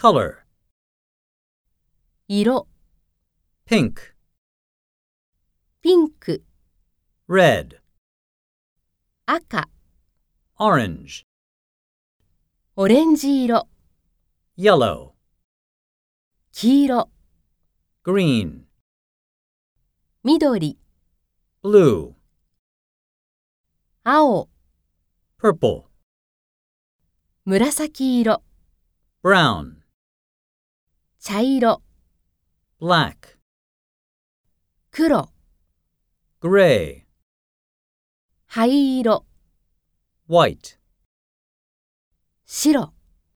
color, 色、 pink, ピンク、 red, 赤、 orange, オレンジ色、 yellow, 黄色、 green, 緑、 blue, 青、 purple, 紫色、 brown, 茶色、 black, 黒、 gray, 灰色、 white. 白。